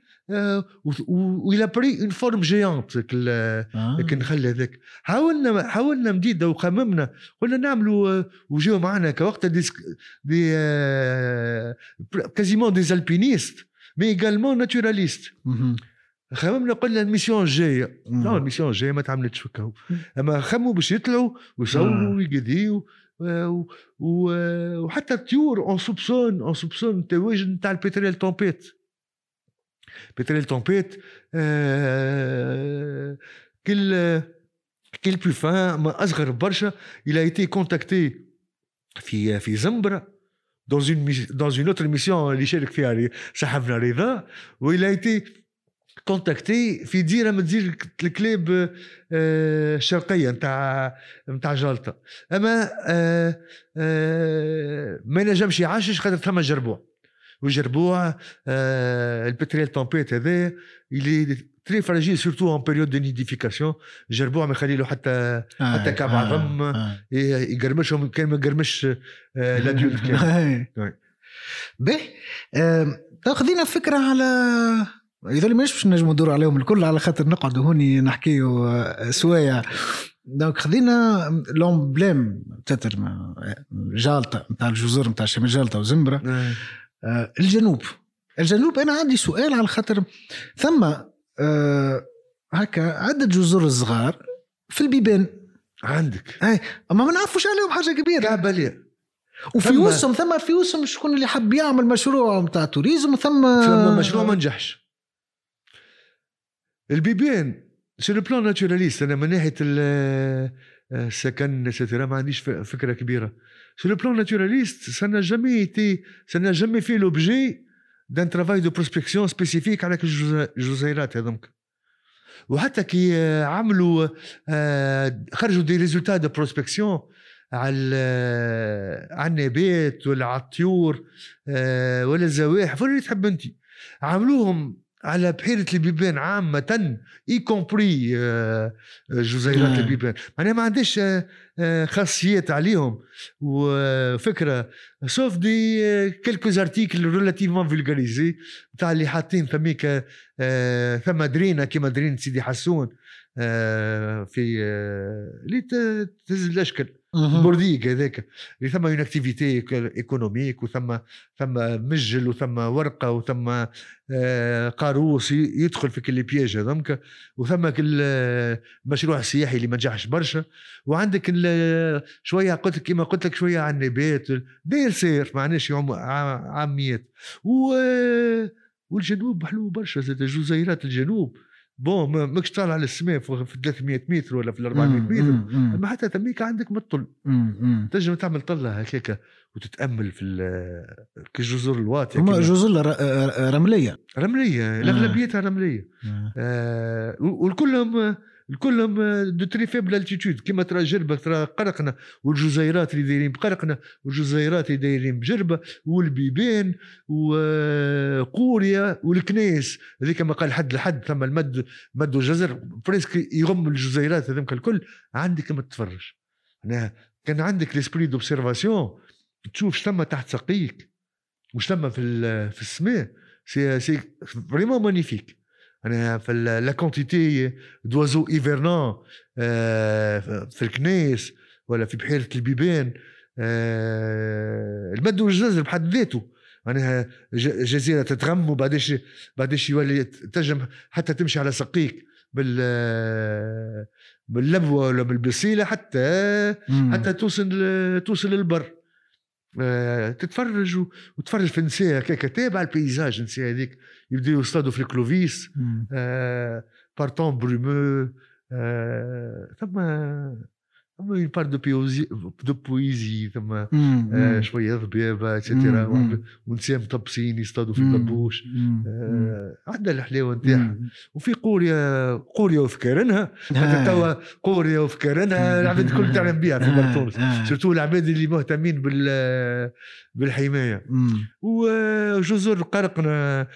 وإلى بري اون فورم جيانت لكن نخلي هذاك. حاولنا حاولنا مديدة وخممنا قلنا نعملوا وجاو معنا كوقت دي دي كازيمون دي البينيست مي ايغالمون ناتوراليست. خممنا قلنا الميسيون الجايه لا الميسيون الجايه ما تعملتش هكا، اما خموا باش يطلعوا ويصوروا ويقديوا وحتى الطيور اون سوبسون اون سوبسون التواجد نتاع البتريل تومبيت. بتريل تومبيت آه كل كل بلو فان ما اصغر برشا il a été contacté في في زنبرة dans une dans une autre mission اللي شارك فيها صاحبنا رضا، و il a été contacté في ديره من دير الكلاب الشرقيه نتاع نتاع جالطة، اما آه آه ما نجمش يعشش خاطر ثم جربوع وجربوع آه البتريل تومبيت هذا اللي تري فراجيل سورتو ان بيريود دو نيديفيكاسيون. جربوع ما يخلي له حتى آه حتى كعب آه عظم آه يقرمشهم كان ما يقرمش آه لادولت كان به. تاخذينا فكره على اذا مش باش نجموا ندور عليهم الكل على خاطر نقعدوا هوني نحكيوا سوايع. دونك خذينا لومبليم تتر جالطة نتاع الجزر نتاع شمال جالطة وزنبرة آه الجنوب. الجنوب انا عندي سؤال على خاطر ثم آه هكا عدة جزر الصغار في البيبان عندك اي اما ما نعرفوش عليهم حاجه كبيره كعباليه، وفي وسم ثم في وسم شكون اللي حب يعمل مشروع نتاع توريزم ثم ثم مشروع ما نجحش. البيبان سي لو بلان ناتوراليست، انا من ناحيه السكن سترا ما عنديش فكره كبيره. سي لو بلان ناتوراليست ça n'a jamais été ça n'a jamais fait l'objet d'un travail de prospection spécifique على الجزيرات هذوك. وحتى كي عملوا خرجوا دي ريزولتا دو بروسبكسيون على على النبات ولا على الطيور ولا الزواحف ولا اللي تحب انت، عملوهم على بحيرة البيبان عامة اي كومبري جزيرات البيبان. معناها ما عندش خاصيات عليهم وفكرة سوف دي كلكوز ارتيكل ريلاتيفمون فولغاريزي تاع اللي حاطين ثميك ثم درينا كيما درين سيدي حسون في اللي تهز الاشكال بورديك هذاك اللي ثم اون اكتيفيتي ايكونوميك وثم ثم مجل وثم ورقه وثم قاروس يدخل في كل بياج هذمك، وثم كل مشروع سياحي اللي ما نجحش برشا، وعندك شويه قلت كيما قلت لك شويه عن النبات داير سير معناش عاميات. والجنوب حلو برشا زاد جزيرات الجنوب بون ماكش طالع على السماء في ثلاثمية متر ولا في أربعمية متر، اما حتى تميك عندك مطل تنجم تعمل طله هكاك وتتامل في كجزر الواطيه. هما جزر رمليه رمليه الاغلبيتها رمليه آه. والكلهم الكلهم دو تري فيبل التيتود كيما ترى جربه ترى قرقنا، والجزيرات اللي دايرين بقرقنا والجزيرات اللي دايرين بجربه والبيبان وقوريا والكنيس هذيك ما قال حد لحد ثم المد مد الجزر بريسك يغم الجزيرات هذوك الكل. عندك ما تتفرج انا كان عندك ليسبري دوبسيرفاسيون تشوف ثم تحت سقيك وش ثم في في السماء سي سي فريمون مانيفيك. أنا في لا كونتيتي دوازو إيفرنان في الكنيس ولا في بحيرة البيبان المد والجزر بحد ذاته. أنا جزيرة تتغم وبعدش بعدش يولي تجم حتى تمشي على سقيك بال باللبوة ولا بالبصيلة حتى حتى توصل توصل للبر. تتفرج وتفرج في نساء هكاك تابع البيزاج نساء هذيك يبداو يصطادوا في الكلوفيس بارتون برومو ثم ثم une part de poésie de poésie ثم شويه ضبابه اتسيتيرا ونساء مطبسين يصطادوا في البابوش عندها الحلاوه نتاعها. وفي قوريا قوريا وفكرنها حتى توا قوريا وفكرنها العباد الكل تعلم بها في برطونس سورتو العباد اللي مهتمين بال بالحمايه. وجزر قرقنا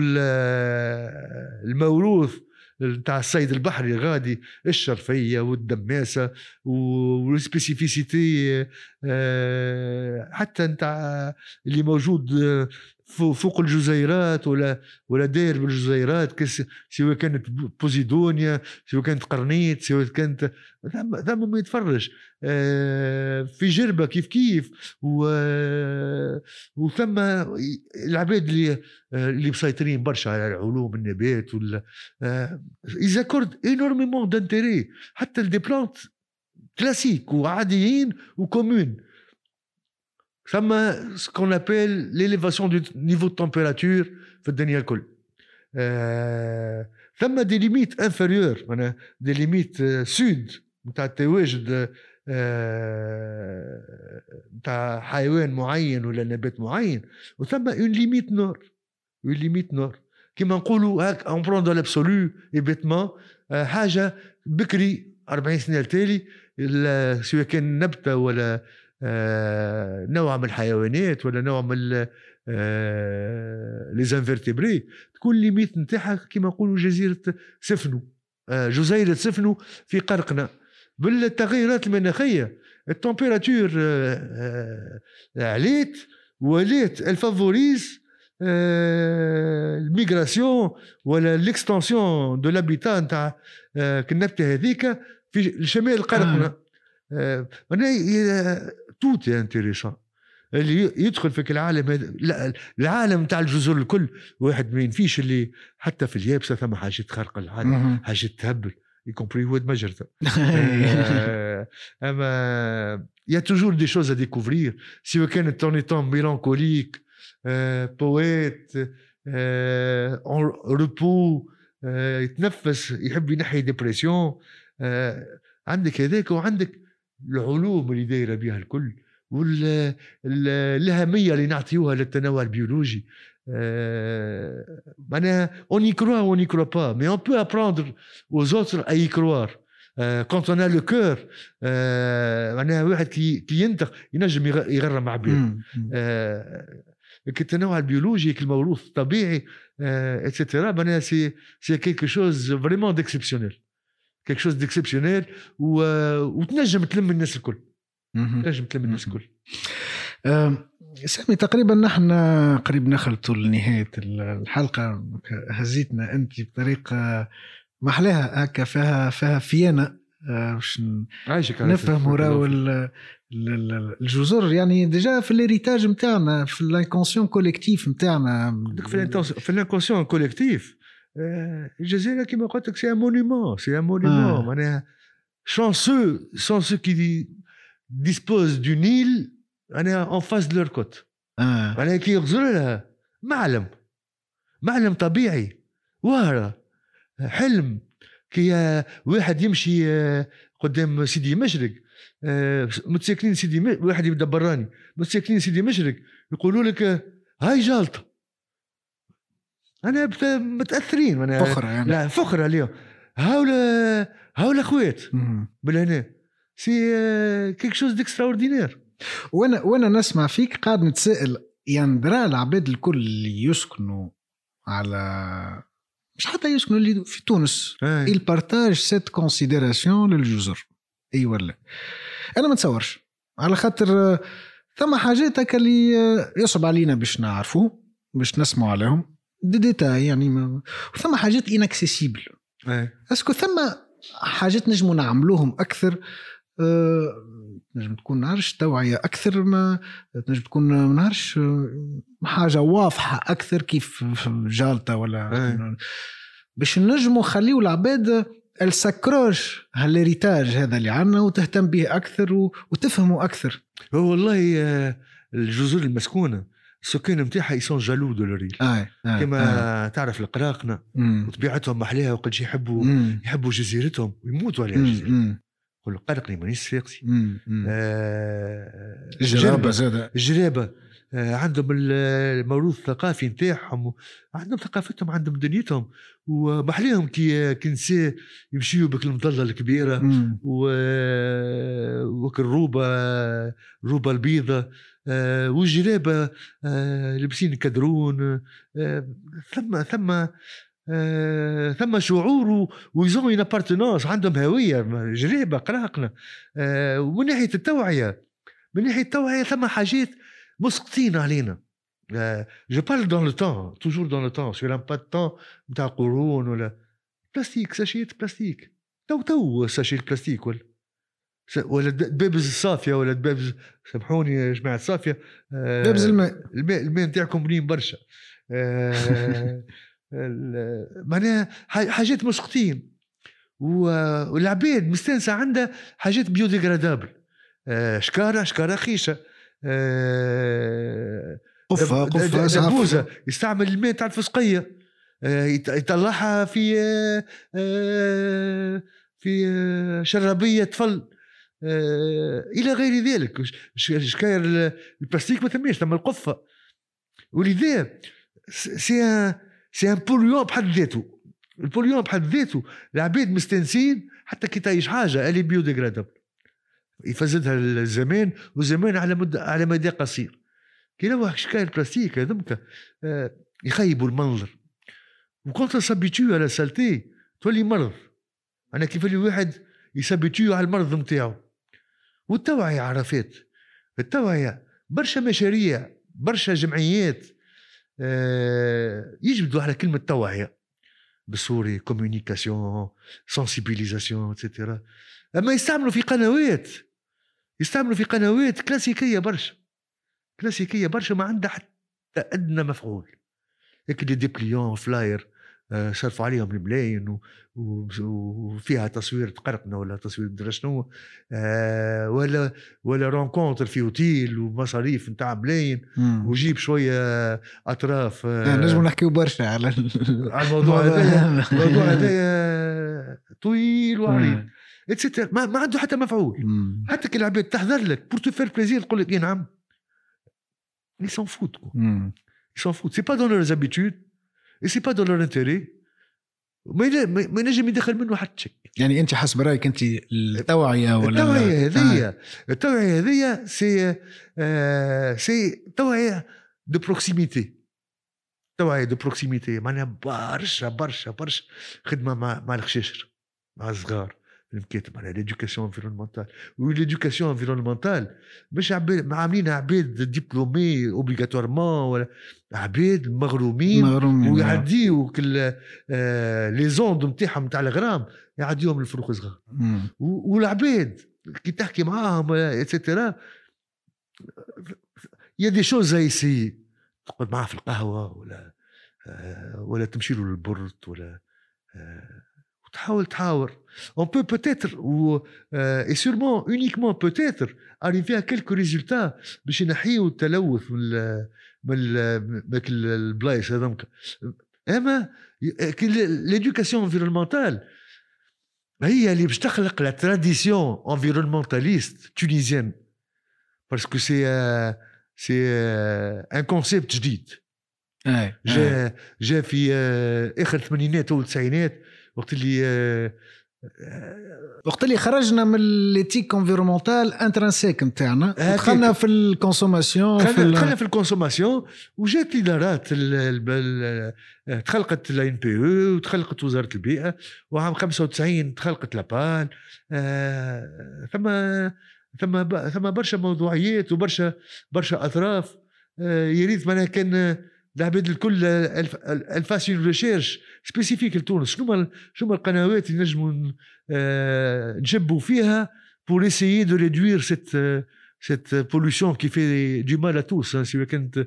والموروث نتاع الصيد البحري غادي الشرفيه والدماسه والسبيسيفيسيتي حتى نتاع اللي موجود فوق الجزيرات ولا ولا داير بالجزيرات سواء كانت بوزيدونيا سواء كانت قرنيط سواء كانت ثم ما يتفرج في جربة كيف كيف وثم العباد اللي اللي مسيطرين برشا على العلوم النبات ولا إذا كرد énormément d'intérêt حتى دي بلانت كلاسيك وعاديين وكومون. ثم ce qu'on appelle l'élévation du niveau de température في الدنيا الكل. آه ثم دي ليميت انفيريور معناها دي ليميت سود نتاع التواجد نتاع آه حيوان معين ولا نبات معين، وثم اون ليميت نور اون ليميت نور كيما نقولوا هاك اون برون دو لابسولو ايبيتمون آه حاجه بكري أربعين سنه التالي سواء كان نبته ولا آه نوع من الحيوانات ولا نوع من لي زانفيرتيبري تكون ليميت نتاعها كيما نقولوا جزيره سفنو آه جزيره سفنو في قرقنا. بالتغيرات المناخيه التمبيراتور آه آه عليت ولات الفافوريز آه الميغراسيون ولا ليكستنسيون دو لابيتا نتاع آه كالنبته هذيك في شمال قرقنا. آه توت انتريسان اللي يدخل في العالم هذا. لا العالم تاع الجزر الكل واحد ما ينفيش اللي حتى في اليابسه ثم حاجه خارقه العالم حاجه تهبل يكمبري واد مجرته. اما يا توجور دي شوز ا ديكوفرير سواء كانت تونيتون ميلانكوليك بويت اون روبو يتنفس يحب ينحي ديبرسيون. عندك هذاك وعندك العلوم اللي دايره بها الكل والأهمية اللي نعطيوها للتنوع البيولوجي. معناها on y croit ou on n'y croit pas mais on peut apprendre aux autres à y croire. كونت انا لو كور معناها واحد كي كي ينطق ينجم يغرم مع عباد. التنوع البيولوجي الموروث الطبيعي اتسيتيرا معناها سي سي كيلكو شوز فريمون ديكسيبسيونيل كيلكو شوز ديكسيبسيونيل وتنجم تلم الناس الكل تنجم تلم الناس الكل. سامي تقريبا نحن قريب نخلطوا لنهاية الحلقة. هزيتنا أنت بطريقة محلاها هكا فيها فيها فينا باش نفهم راهو الجزر يعني ديجا في الهيريتاج نتاعنا في الانكونسيون كوليكتيف نتاعنا في الانكونسيون كوليكتيف. الجزيرة كما قلت لك سي ان مونيمون سي ان مونيمون معناها شانسو شانسو كي ديسبوز دو نيل أنا en face de leur côte. آه. أنا كي يغزر لها معلم معلم طبيعي وهرة حلم كي واحد يمشي قدام سيدي مشرق متساكنين سيدي م... واحد يبدا براني متساكنين سيدي مشرق يقولوا لك هاي جالطة. أنا متأثرين أنا فخرة يعني. لا فخرة اليوم هاولا هاولا أخوات بالهنا سي كيك شوز ديكستراوردينير. وانا وانا نسمع فيك قاعد نتسائل يعني درا العباد الكل اللي يسكنوا على مش حتى يسكنوا اللي في تونس البارتاج سيت كونسيديراسيون للجزر اي ولا انا ما نتصورش على خاطر ثم حاجات هكا اللي يصعب علينا باش نعرفوه باش نسمعوا عليهم دي ديتا يعني ما... ثم حاجات اناكسيسيبل. اسكو ثم حاجات نجموا نعملوهم اكثر أه... نجم تكون نعرفش توعية أكثر ما نجم تكون ما نعرفش حاجة واضحة أكثر كيف جالطة ولا أي. باش نجموا خليوا العباد السكروش هالريتاج هذا اللي عنا وتهتم به أكثر وتفهموا أكثر. هو والله الجزر المسكونة السكان متاعها يسون جالو دو لوريل كما آه. تعرف القراقنة وطبيعتهم محليها وقد يحبوا مم. يحبوا جزيرتهم ويموتوا عليها الجزيرة. كل قرقني مانيش فاقسي. آه الجرابة زادة الجرابة آه عندهم الموروث الثقافي نتاعهم عندهم ثقافتهم عندهم دنيتهم ومحليهم كي كنساء يمشيوا بك المظلة الكبيرة وكالروبة الروبة البيضة آه والجرابة آه لبسين كدرون آه ثم ثم آه، ثم شعور ويزون ابارتنانس عندهم هويه جريبه قراقنا. آه، ومن ناحيه التوعيه من ناحيه التوعيه ثم حاجات مسقطين علينا. جو بارل دون لو طون توجور دون لو طون سور ان با دو طون نتاع قرون ولا بلاستيك ساشيت بلاستيك تو تو ساشيت بلاستيك ولا ولا دبابز الصافيه ولا دبابز سامحوني يا جماعه الصافيه آه، دبابز الماء الماء الماء نتاعكم بنين برشا. آه، معناها حاجات مسقطين والعباد مستنسة عنده حاجات بيوديغرادابل. شكارة شكارة خيشة قفة قفة دبوزة يستعمل الماء تاع الفسقية يطلعها في في شرابية طفل إلى غير ذلك. شكاير البلاستيك ما ثماش ثم القفة. ولذا سي سي ان بوليون بحد ذاته. البوليون بحد ذاته العباد مستنسين حتى كي تعيش حاجه اللي بيوديغرادابل يفسدها الزمان والزمان على مدة على مدى قصير. كي لو شكاية البلاستيك هذمك آه يخيبوا المنظر وكنت سابيتيو على سالتي تولي مرض. انا كيف اللي واحد يسابيتيو على المرض نتاعو. والتوعيه عرفات التوعيه برشا مشاريع برشا جمعيات آه يجبدوا على كلمة توعية بالسوري كوميونيكاسيون سنسيبيليزاسيون اتسيتيرا. أما يستعملوا في قنوات يستعملوا في قنوات كلاسيكية برشا كلاسيكية برشا ما عندها حتى أدنى مفعول. هيك دي ديبليون فلاير آه صرفوا عليهم الملايين وفيها تصوير تقرقنا ولا تصوير درشنو آه ولا ولا رونكونتر في اوتيل ومصاريف نتاع ملايين وجيب شويه اطراف. آه نجم نحكيو برشا على على الموضوع هذا. الموضوع هذا طويل وعريض اتسيتير ما, ما عنده حتى مفعول. مم. حتى كي العباد تحضر لك بور تو فير بليزير تقول لك نعم ils s'en foutent quoi. ils s'en foutent c'est pas dans leurs habitudes et c'est pas dans leur intérêt. ما ما ينجم يدخل منه حتى شيء. يعني انت حسب رايك انت التوعيه ولا التوعيه هذه آه. التوعيه هذه سي آه سي توعيه دو بروكسيميتي، توعيه دو بروكسيميتي معناها برشا برشا برشا خدمه مع مع الخشاشر مع الصغار المكاتب على ليدوكاسيون انفيرونمونتال. وليدوكاسيون انفيرونمونتال مش عباد عاملينها عباد ديبلومي اوبليغاتوارمون ولا عباد مغرومين, مغرومين ويعديوا كل آه لي زوند نتاعهم نتاع الغرام يعديهم الفروق صغار. والعباد كي تحكي معاهم اتسيتيرا يا دي شوز زي سي تقعد معاه في القهوه ولا آه ولا تمشي له للبرد ولا آه تحاول تحاور. on peut peut-être ou euh, et sûrement uniquement peut-être arriver à quelques résultats باش ينحيوا التلوث من من من البلايص هذوك. اما l'éducation environnementale هي اللي باش تخلق la tradition environnementaliste tunisienne parce que c'est euh, c'est euh, un concept جديد جاء جاء في اخر الثمانينات او التسعينات وقت اللي وقت اللي خرجنا من ليتيك انفيرونمونتال انترانسيك نتاعنا دخلنا في الكونسوماسيون دخلنا في الكونسوماسيون وجات الادارات تخلقت الان بي او وتخلقت وزاره البيئه وعام خمسة وتسعين تخلقت لابال. ثم ثم ثم برشا موضوعيات وبرشا برشا اطراف. يريد معناها كان العباد الكل الفاسيون ريشيرش سبيسيفيك لتونس. شنو شنو القنوات اللي نجموا نجبوا فيها pour essayer de réduire cette cette pollution qui fait du mal à tous سواء كانت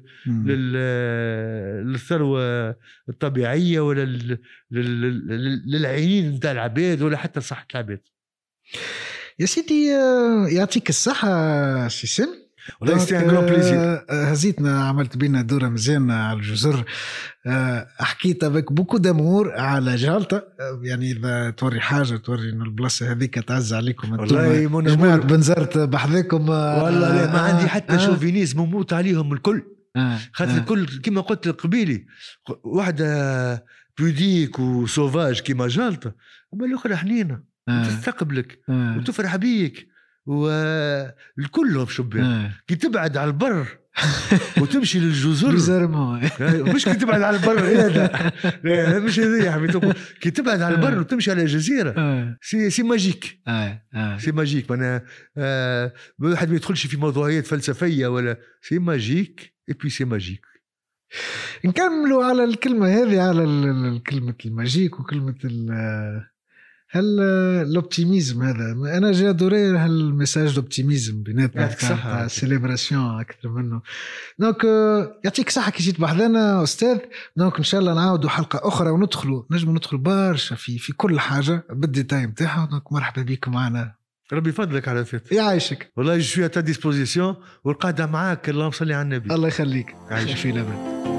للثروه الطبيعيه ولا للعينين نتاع العباد ولا حتى صحه العباد. يا سيدي يعطيك الصحه سي سم. والله سي ان غران بليزير. هزيتنا عملت بينا دوره مزيانه على الجزر. حكيت افيك بوكو دامور على جالطة. يعني اذا توري حاجه توري ان البلاصه هذيك تعز عليكم والله جماعه بنزرت بحذاكم. والله لا ما عندي حتى آه شوفينيز مموت عليهم الكل. آه خاطر آه الكل كما قلت قبيلي واحده بوديك وسوفاج كما جالطة اما الاخرى حنينه آه تستقبلك آه وتفرح بيك والكلهم شباب. آه. كي تبعد على البر وتمشي للجزر مش كي تبعد على البر هذا مش هذا يا حبيبي. كي تبعد على البر وتمشي على جزيره آه. سي سي ماجيك آه. آه. سي ماجيك. انا آه واحد ما يدخلش في موضوعيات فلسفيه ولا سي ماجيك اي بي سي ماجيك. نكملوا على الكلمه هذه على كلمه الماجيك وكلمه هل الاوبتيميزم هذا انا جا دوري هالميساج الاوبتيميزم بيناتنا تاع سيليبراسيون اكثر منه. دونك يعطيك صحه كي جيت بحذنا استاذ. دونك ان شاء الله نعاودوا حلقه اخرى وندخلوا نجم ندخل برشا في في كل حاجه بالديتاي نتاعها. دونك مرحبا بكم معنا. ربي يفضلك على فات يعيشك. والله جو سوي ا تا ديسبوزيسيون والقاعده معاك. اللهم صل على النبي. الله يخليك. عايش في لبن.